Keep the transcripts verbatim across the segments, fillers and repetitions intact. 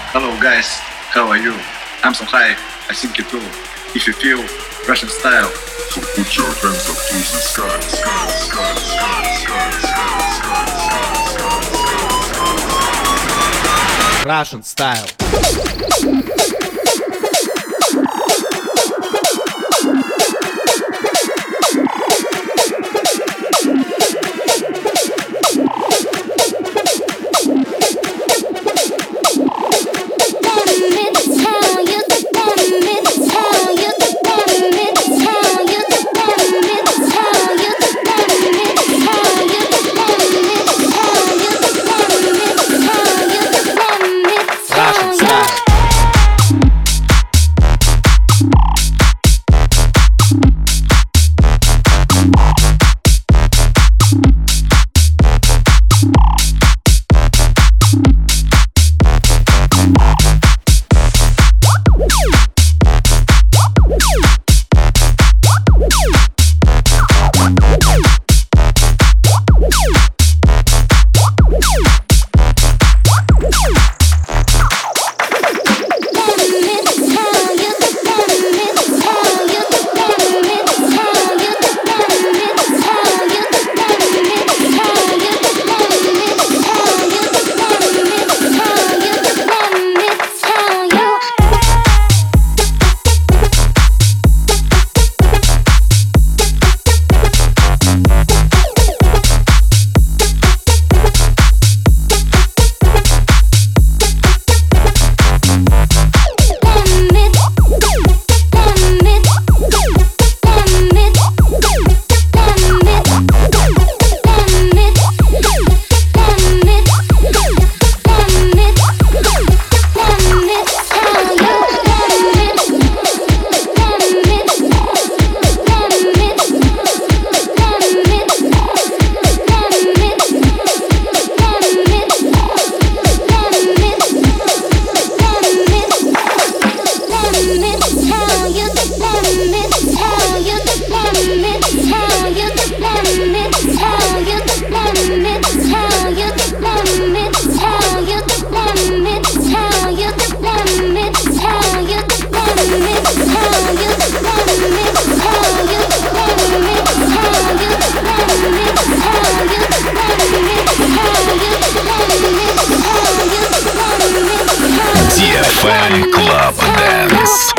Hello guys, how are you? I'm so high, I think you too. If you feel Russian style, so put your hands up to the sky, sky, sky, sky, sky, sky, sky, sky, Russian style. ди эф эм Club Dance.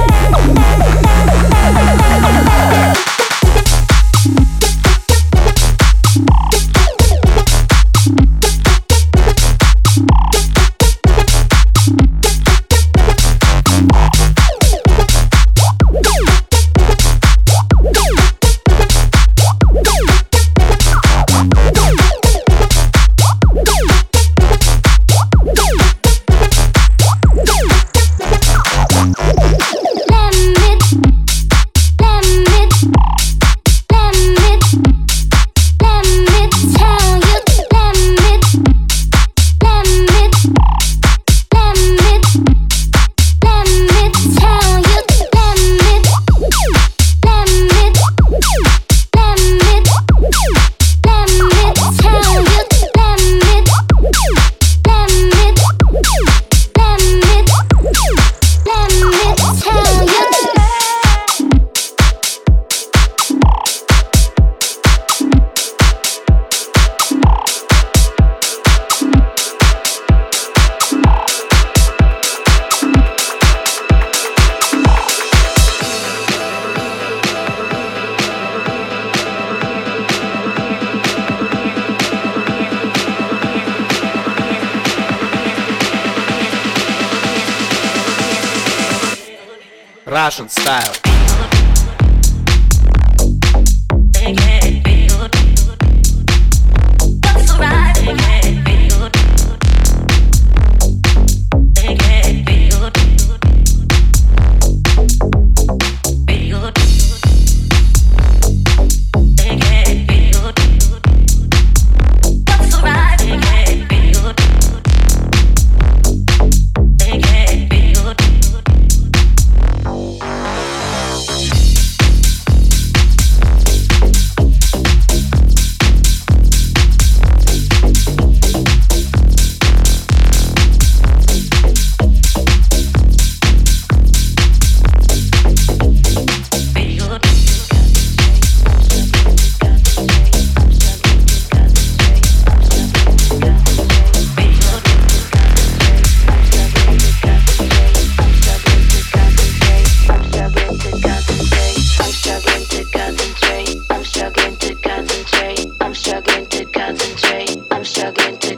Russian style.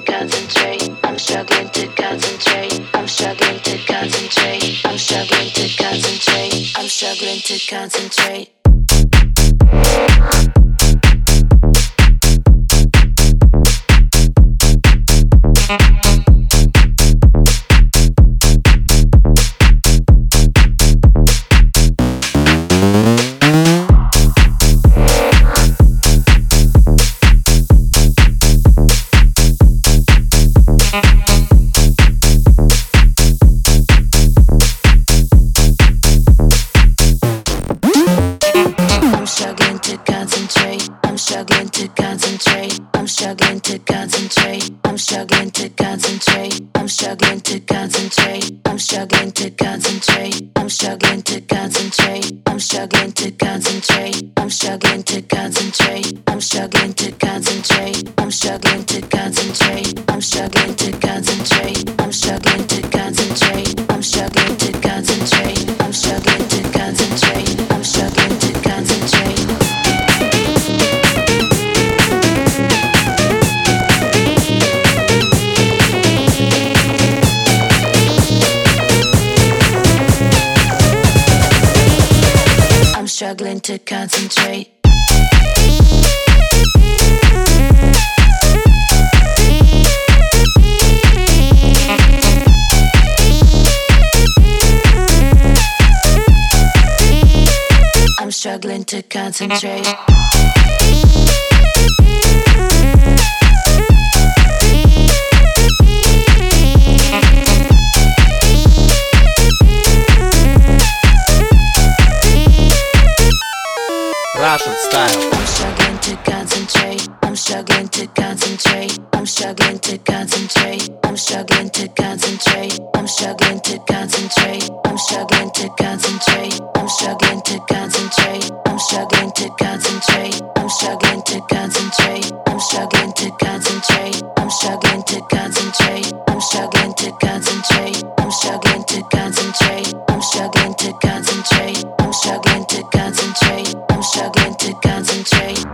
concentrate. I'm struggling to concentrate. I'm struggling to concentrate. I'm struggling to concentrate. I'm struggling to concentrate. Struggling to concentrate. I'm struggling to concentrate. Russian style. I'm struggling to concentrate. I'm struggling to concentrate. I'm struggling to concentrate. I'm struggling to concentrate. I'm struggling to concentrate. I'm struggling to concentrate. I'm struggling to concentrate. I'm struggling to concentrate. I'm struggling to concentrate. I'm struggling to concentrate. I'm struggling to concentrate. I'm struggling to concentrate. I'm struggling to concentrate. I'm struggling to concentrate. I'm struggling to concentrate. I'm struggling to concentrate.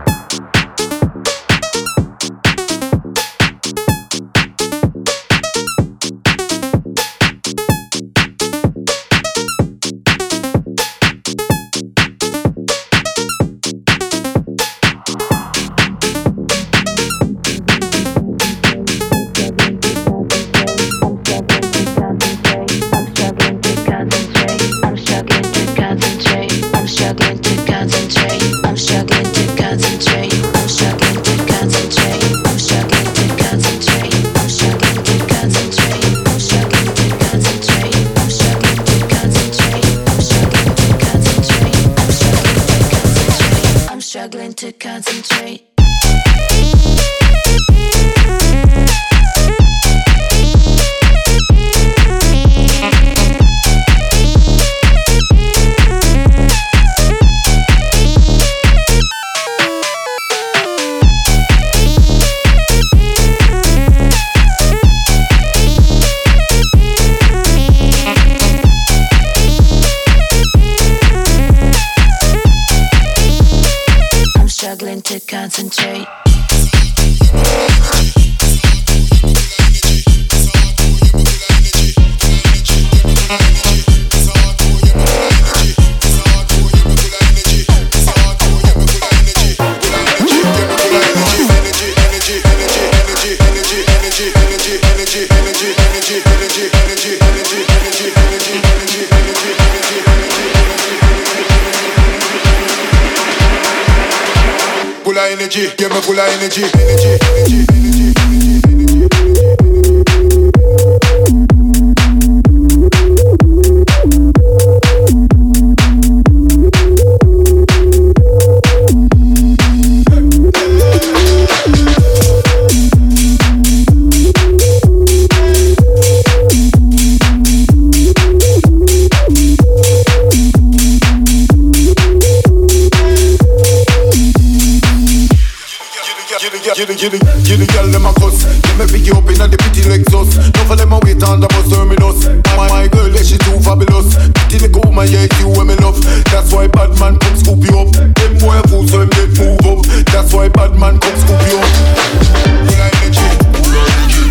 Struggling to concentrate. Struggling to concentrate. Energy, give me full of energy, energy, energy, energy, You the, you the, you the girl them a cuss. Let me pick you up inna the pretty Lexus. None of them a wait on the bus terminus. My, my girl, yeah, she too fabulous. Pretty little woman, yeah, it's you when me love. That's why bad man come scoop you up. Them boy a fool, so them get move up. That's why bad man come scoop you up. Full of energy, full of energy.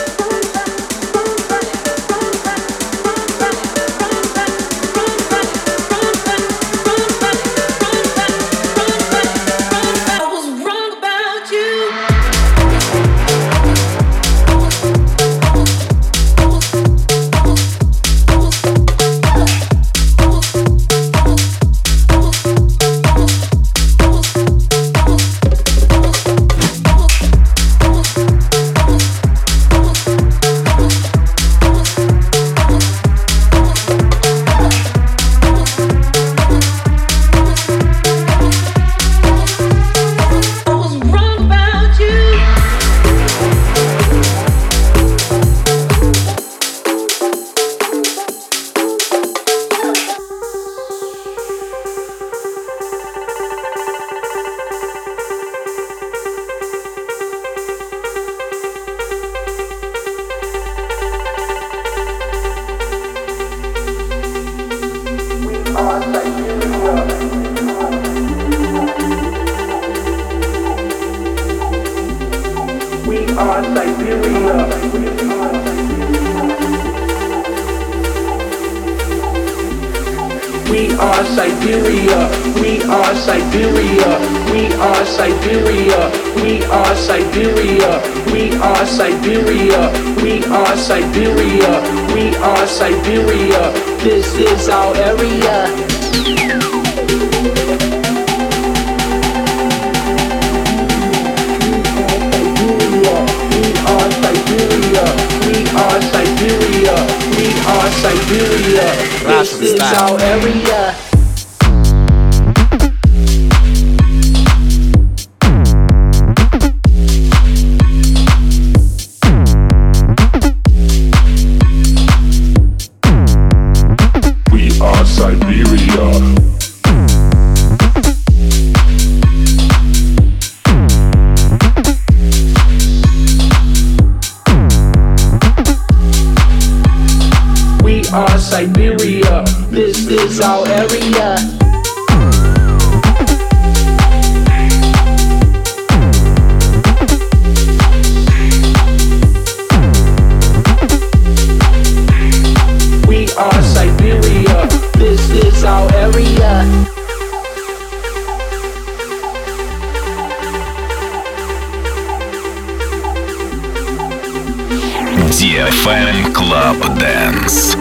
We are Siberia, we are Siberia, we are Siberia, we are Siberia, we are Siberia, we are Siberia, we are Siberia, this is our area. We are Siberia, we are Siberia, we are Siberia, this is our area. We are Siberia. Our Siberia, this is our area. We are Siberia, this is our area. ди эф эм Club Dance.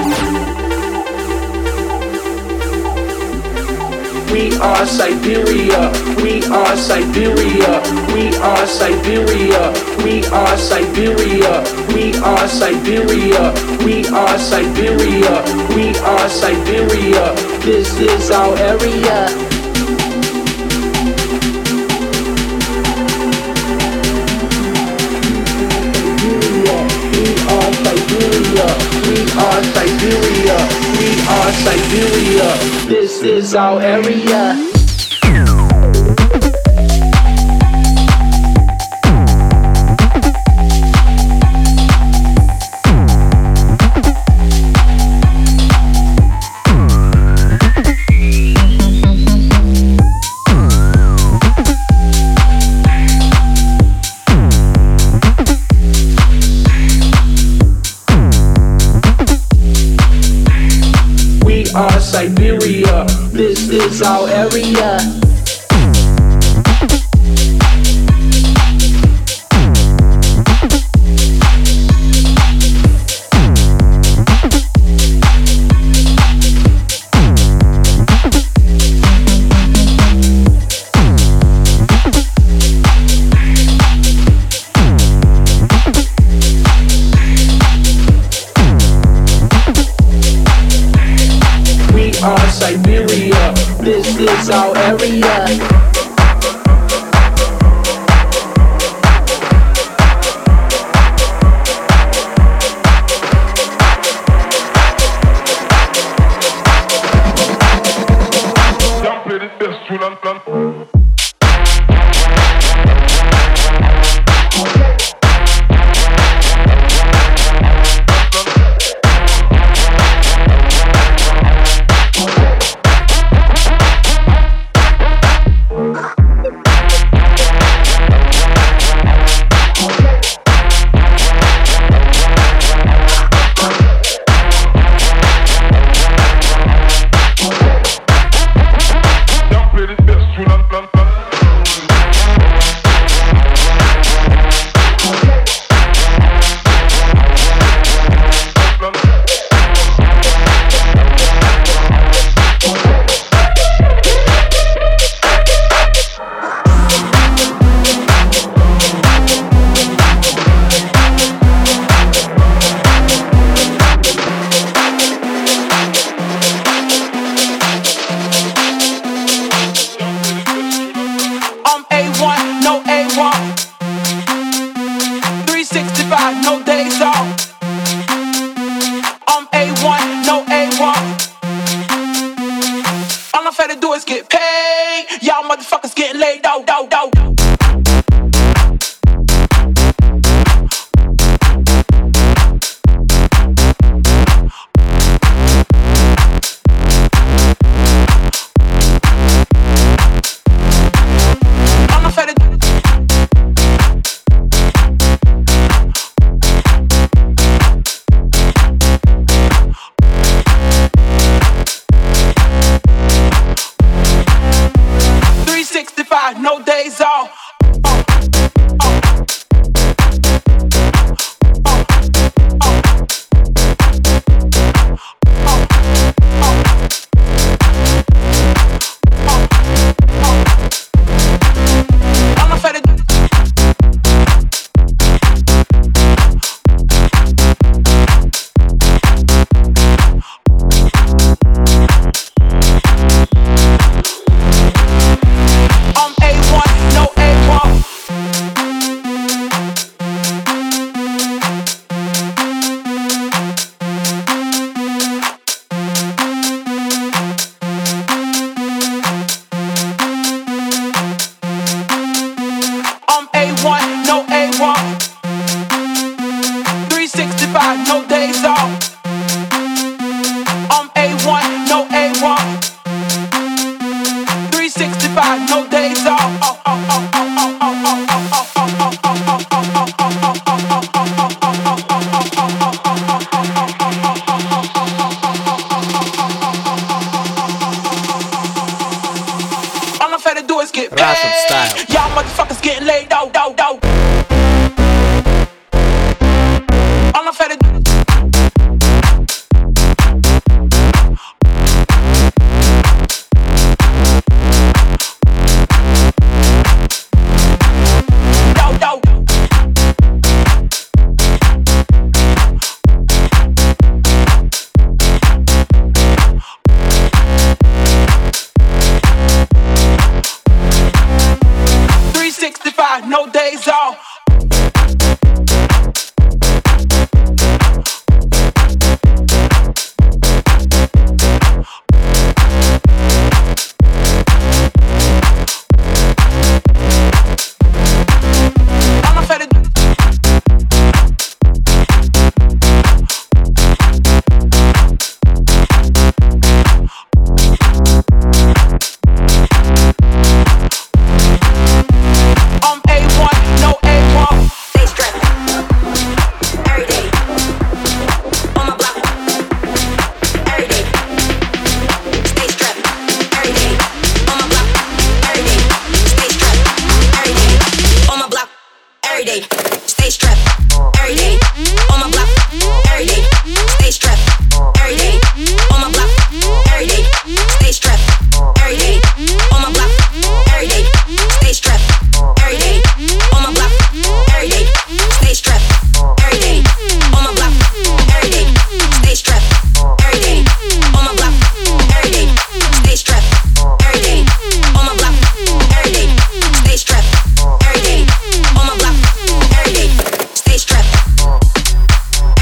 We are Siberia, we are Siberia, we are Siberia, we are Siberia, we are Siberia, we are Siberia, we are Siberia, this is our area. Siberia, we are Siberia, we are Siberia, this is our area. Our Siberia, this is our area. Our Siberia, this is our area.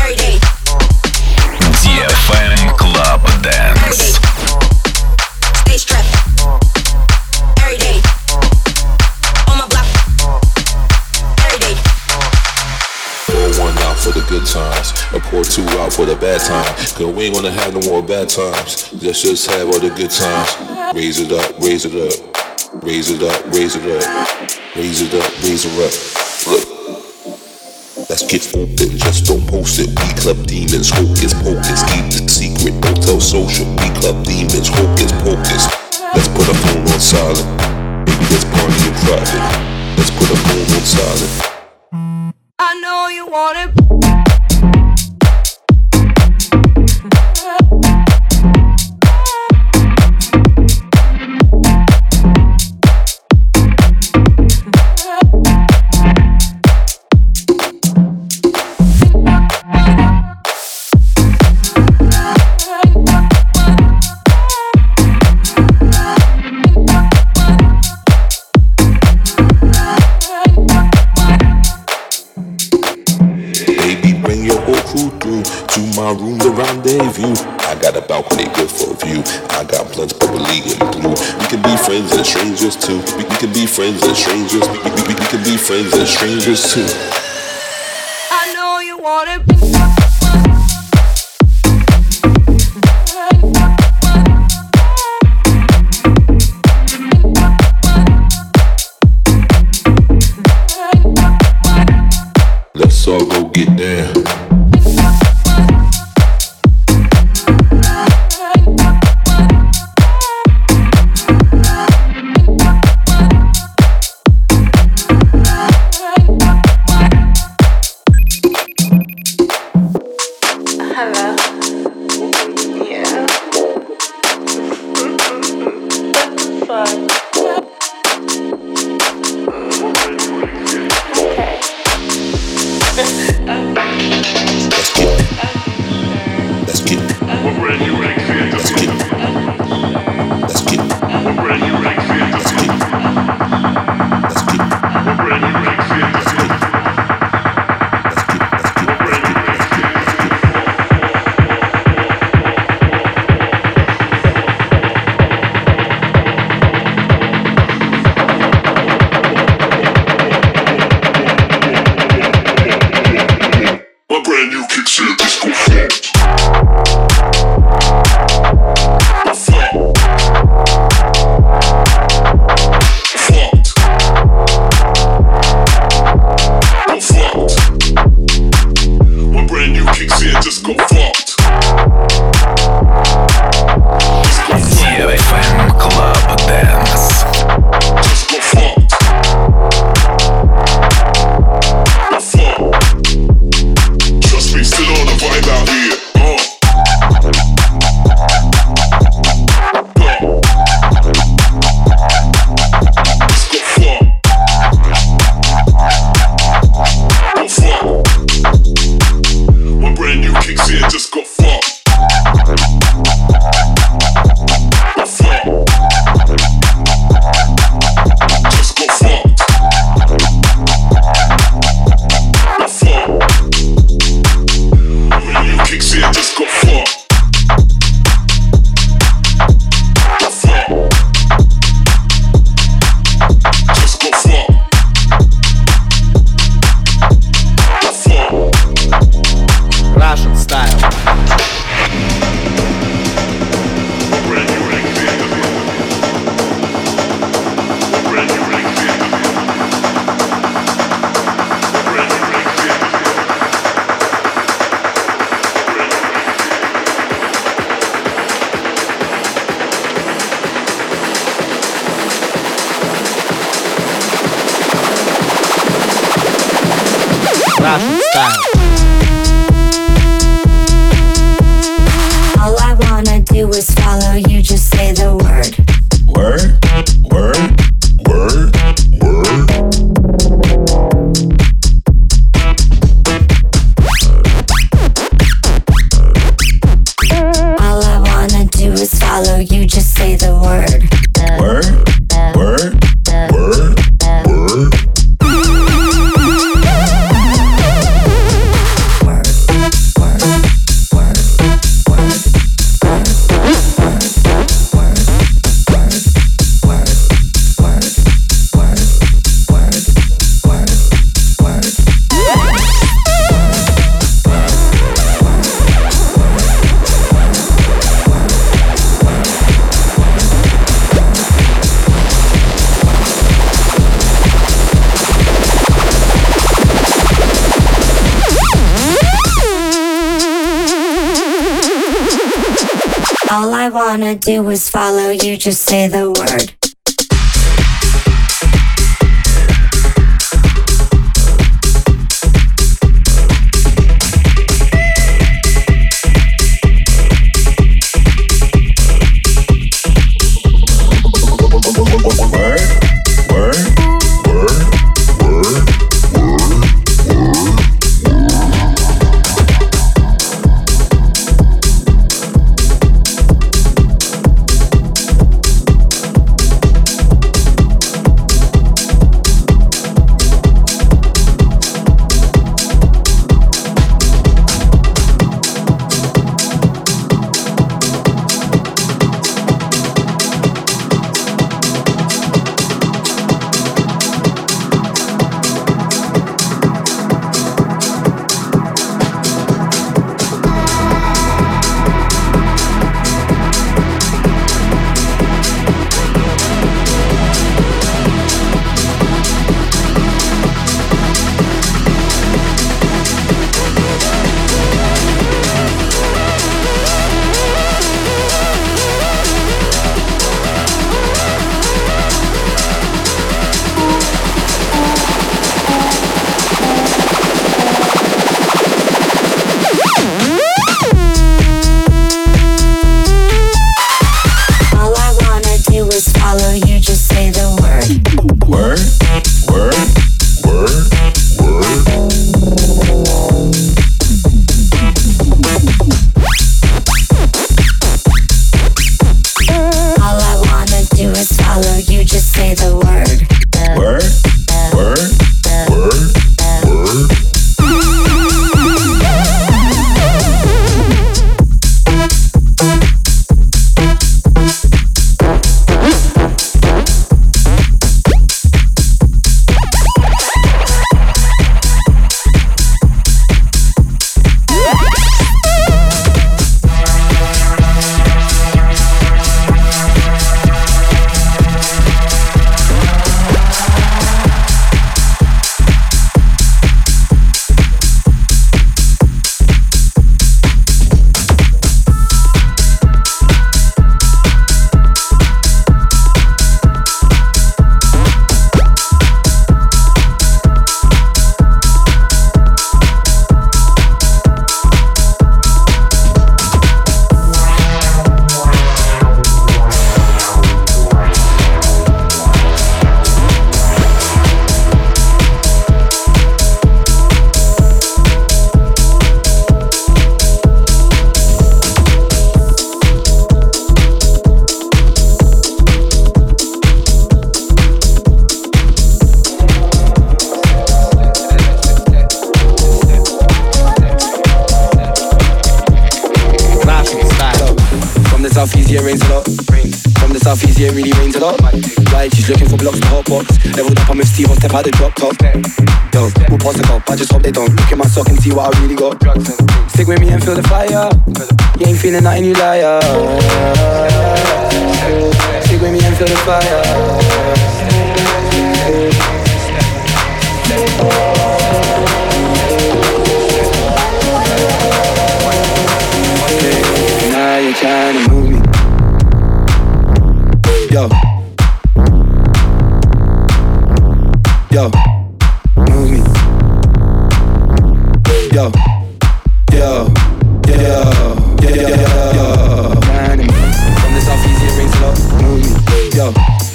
ди эф эм Club Dance. Stay strapped every day. On my block every day. Pour one out for the good times, or pour two out for the bad times. Cause we ain't gonna have no more bad times. Let's just have all the good times. Raise it up, raise it up. Raise it up, raise it up. Raise it up, raise it up. Look. Let's get open, just don't post it. We club demons, hocus pocus. Keep the secret, don't tell social. We club demons, hocus pocus. Let's put a phone on silent. Maybe let's party in private. Let's put a phone on silent. I know you want it. My room, the rendezvous. I got a balcony good for a view. I got blunts bubbly and blue. We can be friends and strangers too. We, we can be friends and strangers. We, we, we, we can be friends and strangers too. I know you want it. Let's all go get down. Russian style. All I wanna do is follow you, just say the word. Word, word, word, word. All I wanna do is follow you, just say the word. Word, word, word, word. Word, word. All I wanna do is follow you, just say the word. southeast, yeah, rains a lot. From the southeast, yeah, it really rains a lot. Right, she's looking for blocks to hot box. Leveled up, I'm with Steve, one step out the drop top. Yo, we'll pass the cup, I just hope they don't look at my sock and see what I really got. Stick with me and feel the fire. You ain't feeling nothing, you liar. Stick with me and feel the fire. Now you're trying to move me. Yo. Yo. Move me. Yo. Yo. Yo. Yo. Yo. Yo. Trying to move. From the southeast, it rains a lot. Move me. Yo.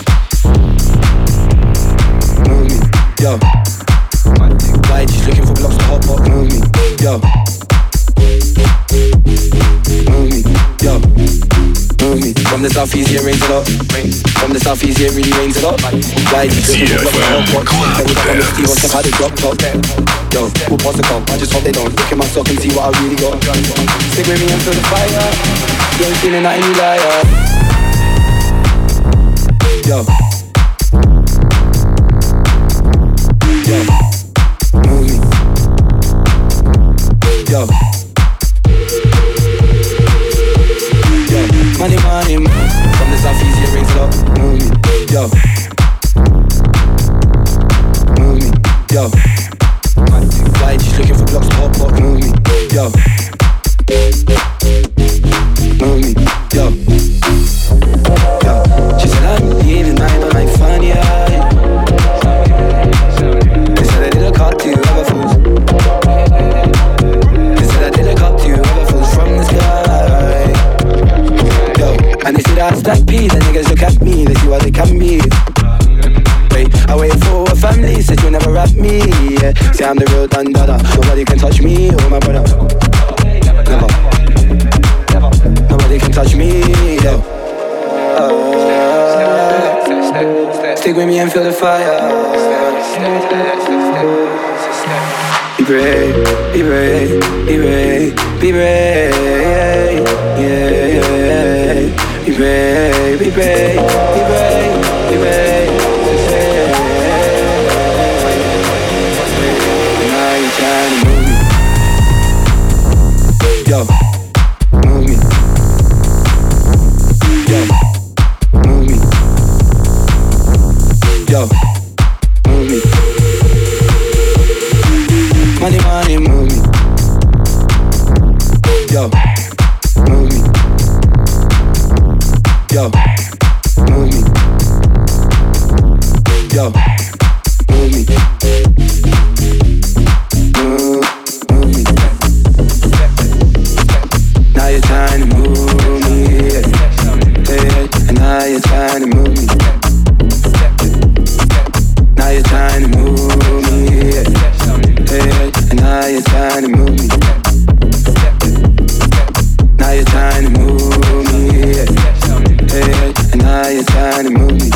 Move me. Yo. Right, she's looking for blocks to hot pot. Move me. Yo. Move me, yo, move me. From the southeast, yeah, rains a lot. From the southeast, yeah, really rains a lot. Right, you look at the block, every time I'm with Steve, one step out the drop top. Yo, we'll pass the cup, I just hope they don't look at my sock and see what I really got. Stick with me and feel the fire. You ain't feeling nothing, you liar. Yo. Yo. Move me. Yo. Money, money, from the southeast, yeah, rains a lot. Move me, yo. Move me, yo. Right, she's looking for blocks to hot pot. Move me, yo. Move me, yo. with me and feel the fire. Be brave, be brave, be brave, be brave, yeah, yeah. Be brave, be brave, be brave, be brave, yeah. Now you're trying to move me, yo, move me, yo, move me, yo, move me. Money, money, move me. Yo, move me. Yo, move me. Yo, move me. Move, move me. Now you're trying to move me. Hey, and now you're trying to move me. Now you're trying to move me. Hey, and now you're trying to move me. Now you're trying to move me. Hey, and now you're trying to move me.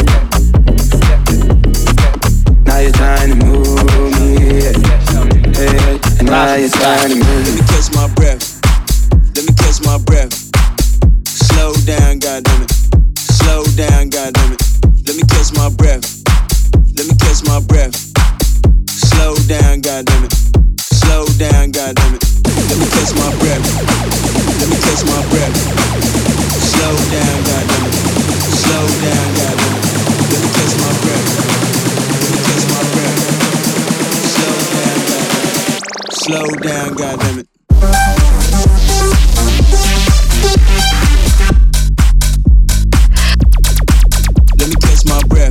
Now you're trying to move me. Hey, and now you're trying to move me. Let me catch my breath. Let me catch my breath. Slow down, goddammit. Slow down, goddammit. Let me catch my breath. Let me catch my breath. Slow down, goddammit. Slow down, goddammit. Let me catch my breath. Let me catch my breath. Slow down, goddammit. Slow down, goddammit. Let me catch my breath. Let me catch my breath. Slow down, goddammit. Slow down, goddammit. Let me catch my breath.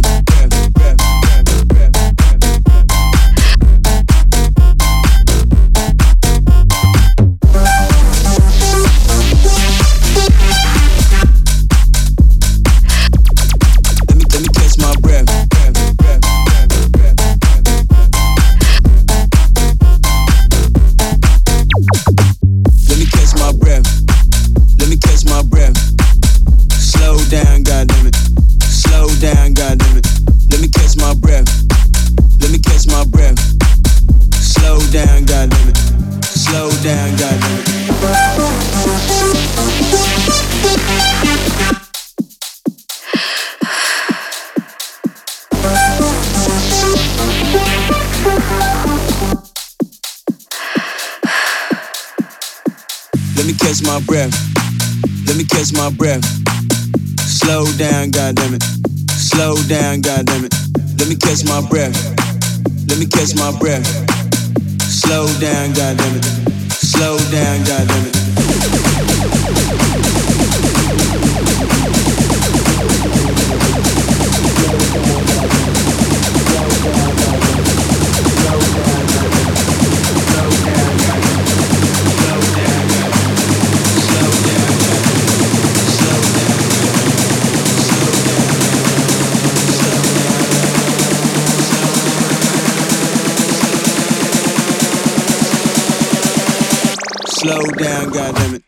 My breath. Let me catch my breath. Slow down, goddammit. Slow down, goddammit. Let me catch my breath. Let me catch my breath. Slow down, goddammit. Slow down, goddammit. Slow down, goddammit.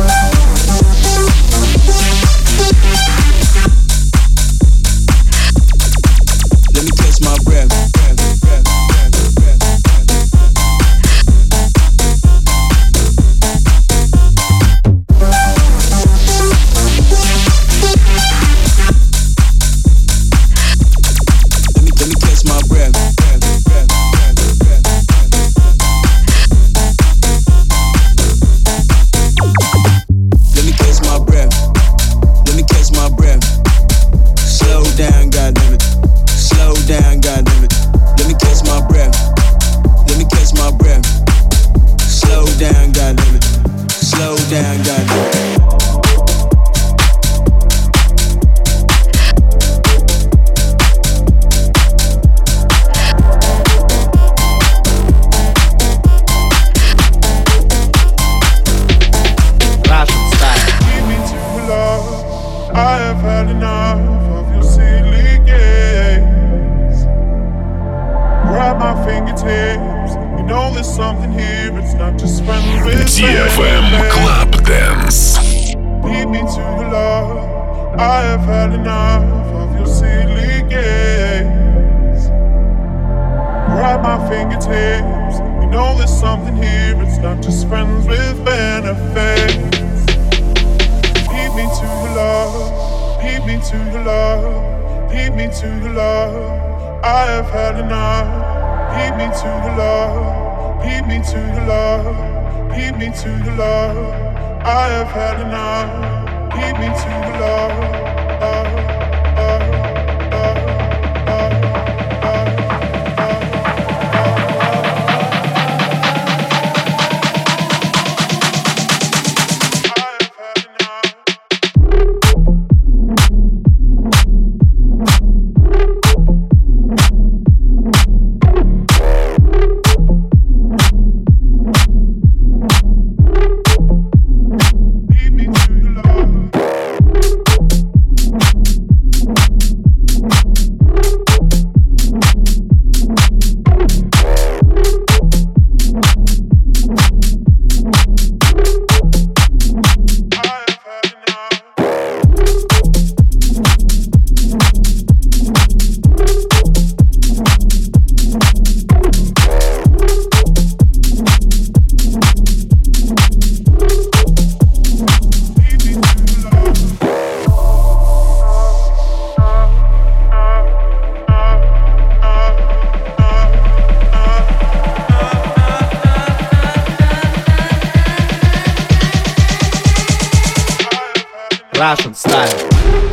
Let me catch my breath. Let me let me catch my breath. ди эф эм Club Dance. Lead me to your love. I have had enough of your silly games. grab my fingertips. You know there's something here, it's not just friends with benefits. Lead me to your love, lead me to your love, lead me to your love. I have had enough. Lead me to your love, lead me to your love, lead me to your love. I have had enough. Lead me to your love. Uh, uh, uh, uh. Russian style.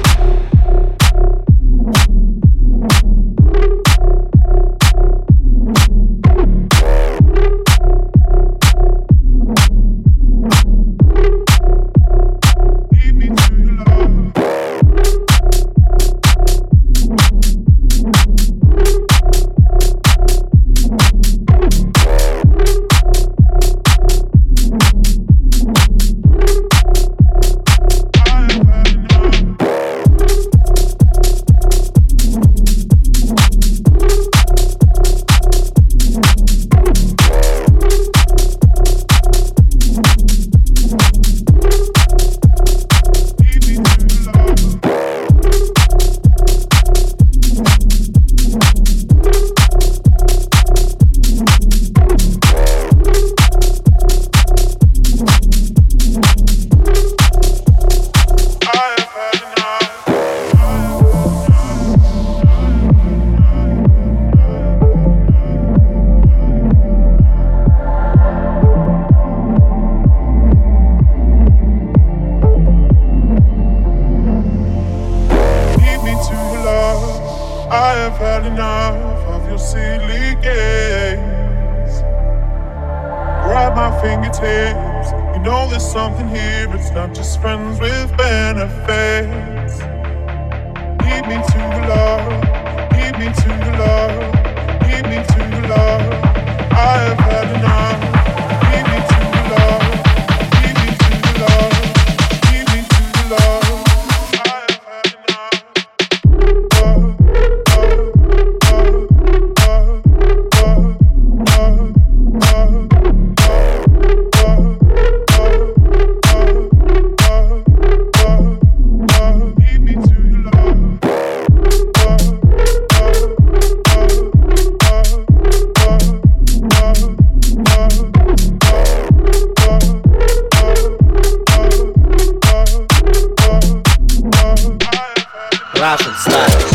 Russian style.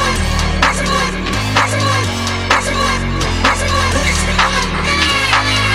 Let's go.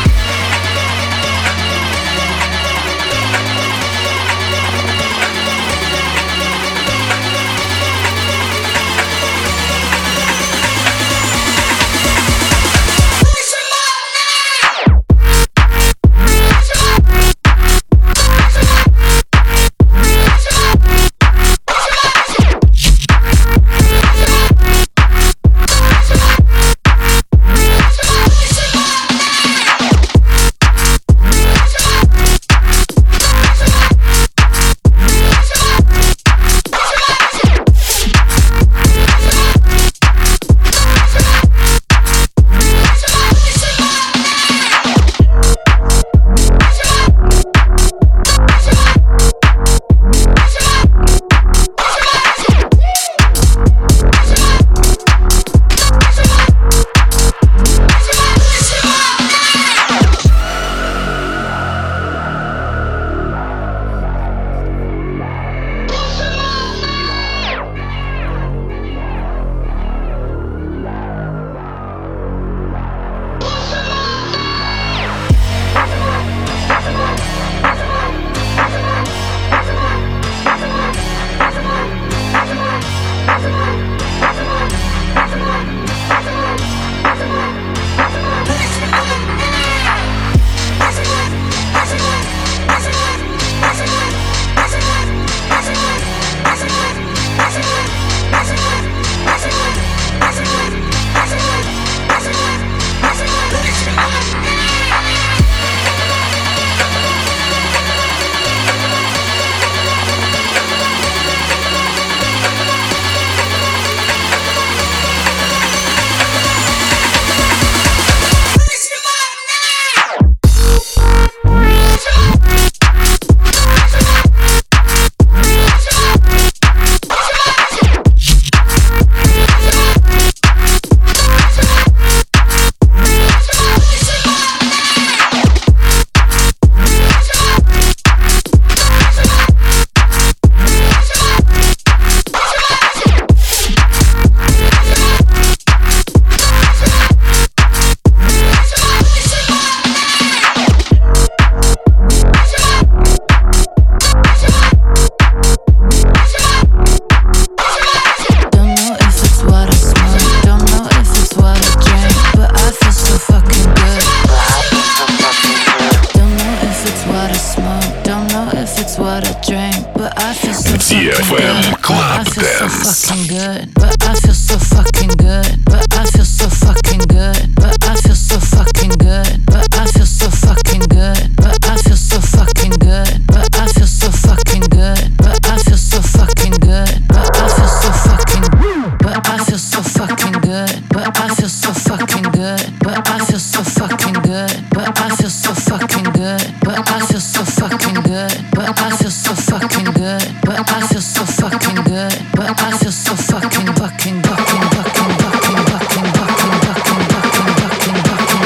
fucking good, but I feel so fucking good, but I feel so fucking good, but I feel so fucking good, but I feel so fucking good, but I feel so fucking good, but I feel so fucking good, but I feel so fucking good, but I feel so fucking, but I feel so fucking good, but I feel so fucking good, but I feel so fucking good, but I feel so fucking good, but I feel so fucking good, but I feel so fucking good, but I feel so fucking good, but I feel so fucking fucking fucking fucking fucking fucking fucking fucking fucking fucking fucking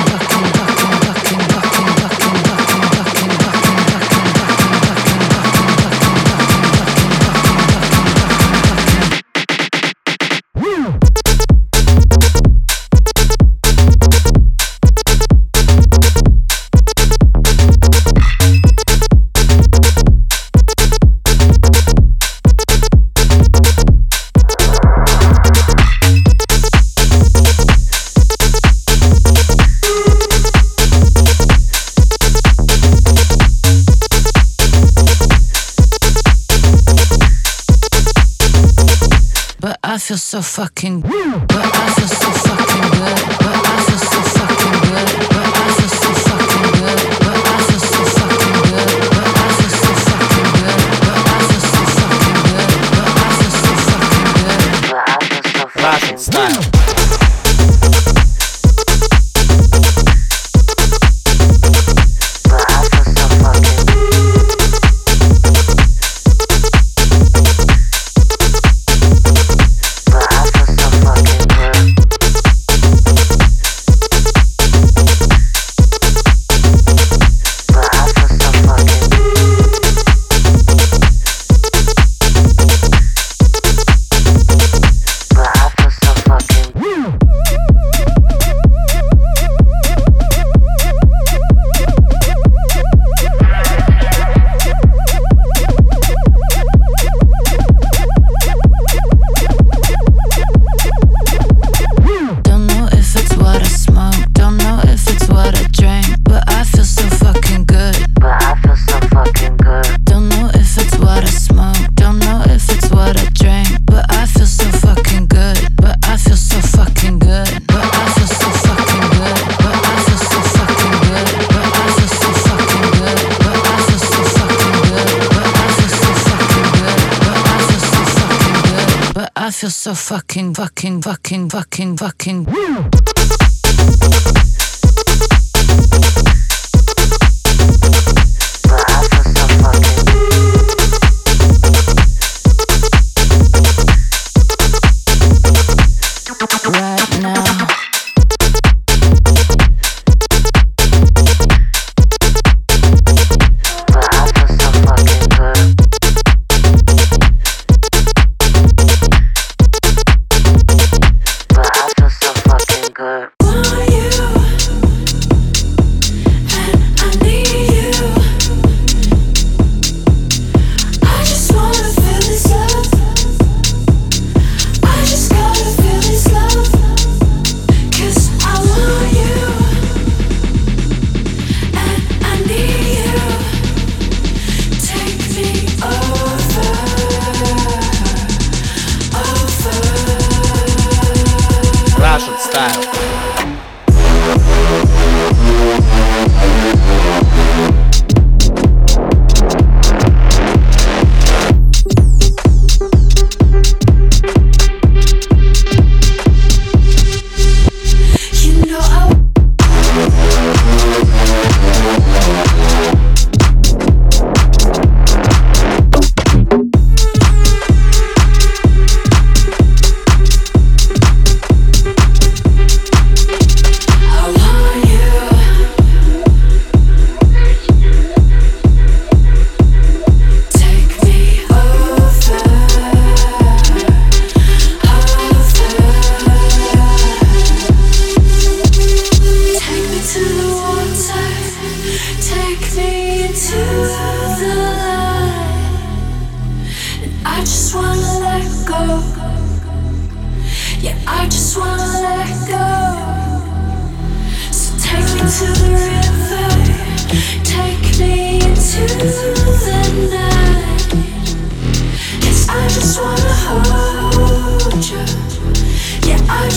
I feel so fucking, but I feel so fucking good, but I feel so fucking good, but I feel so fucking good, but I feel so fucking good, but I feel so fucking good, but I feel so fucking good, but I feel so fucking good, but I feel so fucking style. I feel so fucking fucking fucking fucking fucking right now. to the river, take me into the night. 'Cause I just wanna hold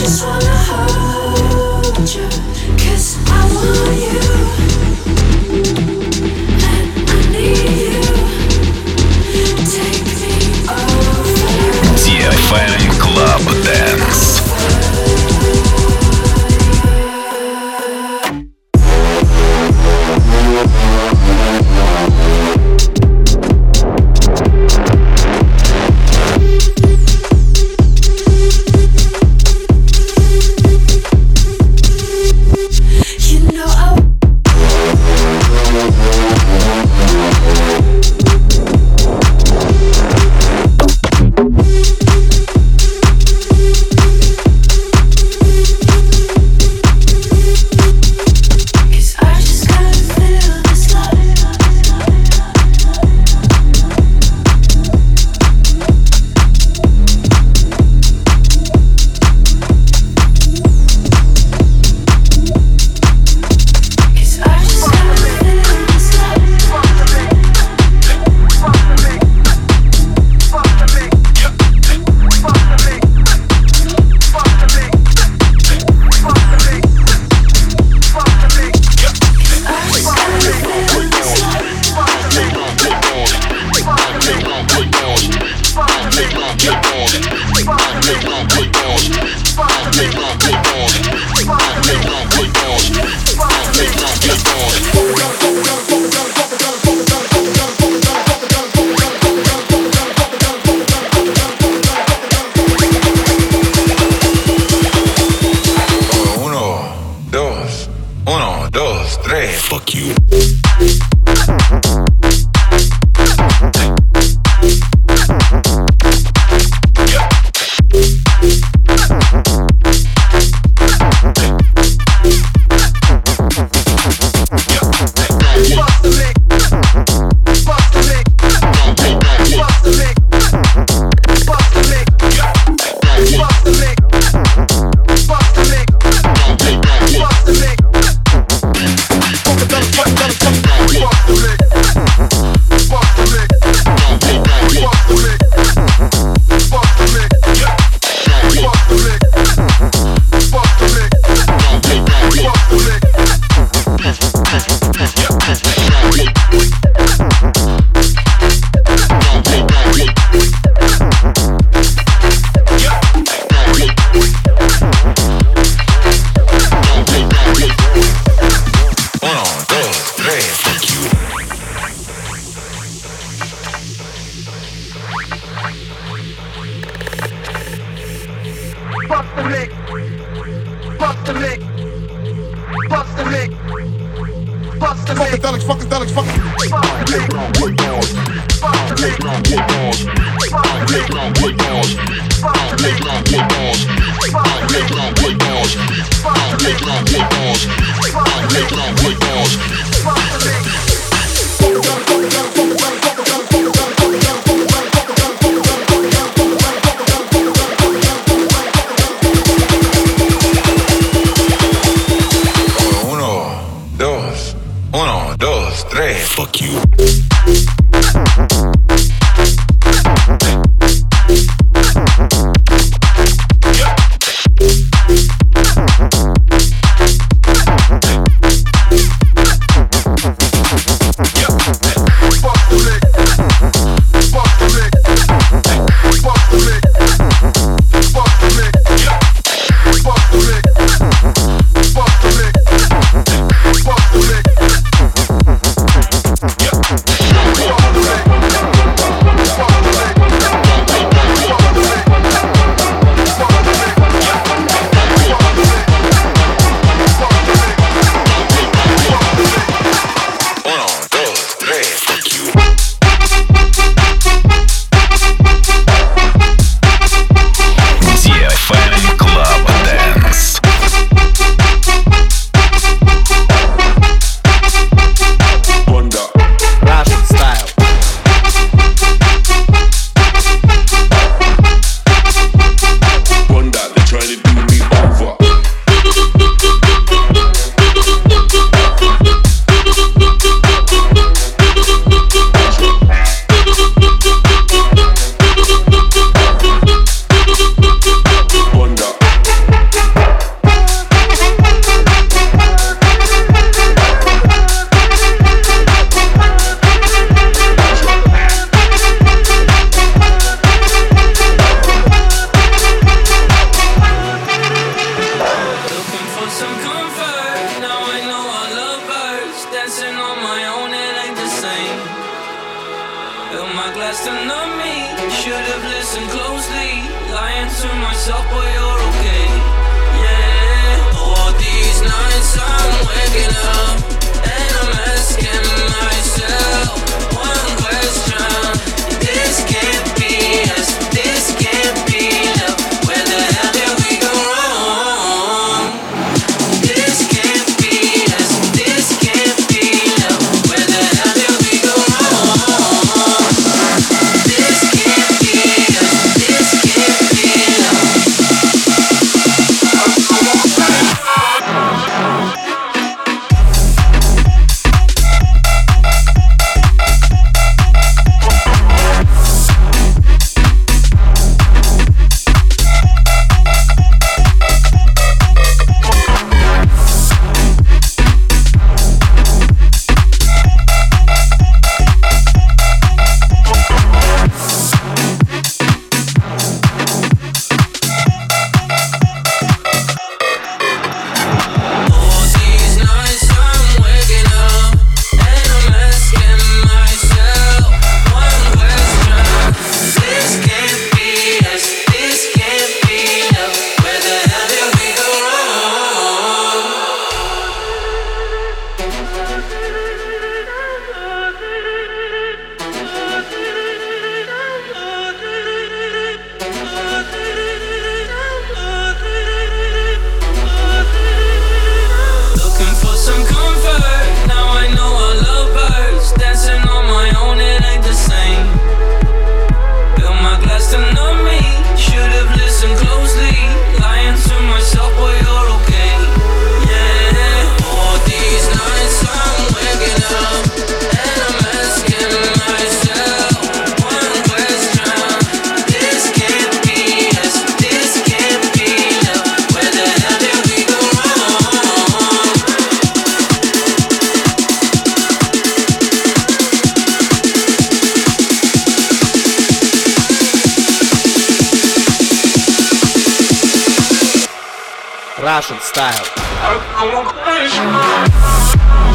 Yeah. myself, but you're okay. Yeah. All these nights I'm waking up and I'm asking myself one question. This can't be us. This can't be love. Where the hell did we go wrong? This can't be us. This can't be love. Where the hell did we go wrong? This can't be us. This can't be love. Russian style.